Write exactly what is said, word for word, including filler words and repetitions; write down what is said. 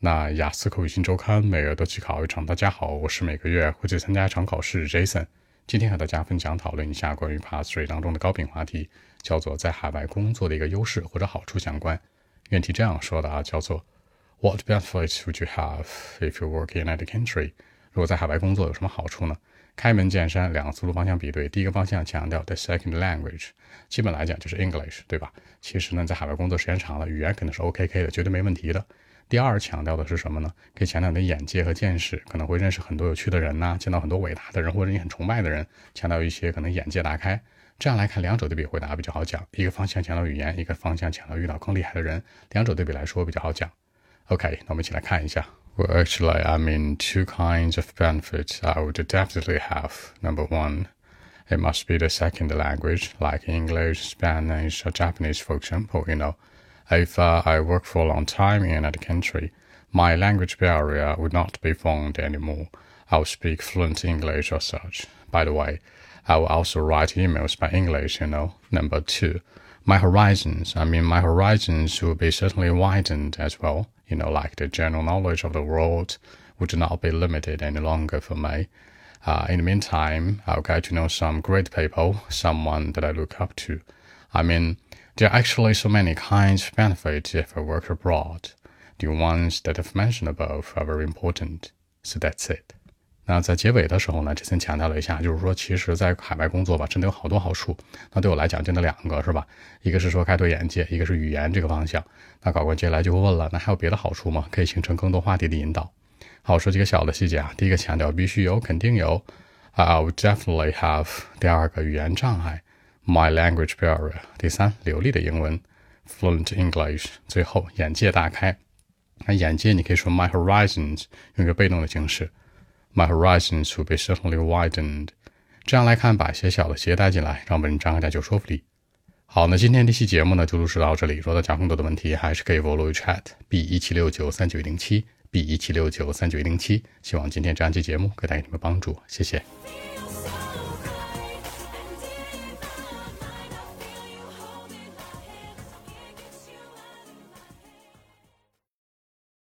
那雅思口语新周刊每月都去考一场。大家好，我是每个月会去参加一场考试 Jason。今天和大家分享讨论一下关于 Part 三 当中的高频话题，叫做在海外工作的一个优势或者好处相关。原题这样说的啊，叫做 What benefits would you have if you work in another country？ 如果在海外工作有什么好处呢？开门见山，两个思路方向比对。第一个方向强调 the second language， 基本来讲就是 English， 对吧？其实呢，在海外工作时间长了，语言肯定是 O K K 的，绝对没问题的。第二强调的是什么呢？可以强调你的眼界和见识，可能会认识很多有趣的人呐、啊，见到很多伟大的人或者你很崇拜的人，强调一些可能眼界大开。这样来看，两者对比回答比较好讲。一个方向强调语言，一个方向强调遇到更厉害的人，两者对比来说比较好讲。OK， 那我们一起来看一下。Well, actually, I mean two kinds of benefits I would definitely have. Number one, it must be the second language, like English, Spanish, or Japanese, for example, you know.If uh, I work for a long time in another country, my language barrier would not be formed anymore. I'll speak fluent English or such. By the way, I will also write emails by English, you know. Number two, my horizons, I mean my horizons will be certainly widened as well. You know, like the general knowledge of the world would not be limited any longer for me. Uh, in the meantime, I'll get to know some great people, someone that I look up to. I mean...There are actually so many kinds of benefits if I work abroad. The ones that I've mentioned above are very important. So that's it. 那在结尾的时候呢，之前强调了一下，就是说其实在海外工作吧，真的有好多好处。那对我来讲真的两个是吧？一个是说开拓眼界，一个是语言这个方向。那考官接下来就会问了，那还有别的好处吗？可以形成更多话题的引导。好，说几个小的细节啊。第一个强调必须有，肯定有。I would definitely have。第二个语言障碍。My language barrier。 第三，流利的英文 Fluent English。 最后，眼界大开。那眼界你可以说 My horizons， 用一个被动的形式 My horizons will be certainly widened。 这样来看，把一些小的细节带进来，让文章更加有说服力。好，那今天这期节目呢就录制到这里。如果大家更多的问题，还是可以 follow chat B 一七六九三九一零七 B 一七六九三九一零七。希望今天这样期节目可以带给你们帮助，谢谢。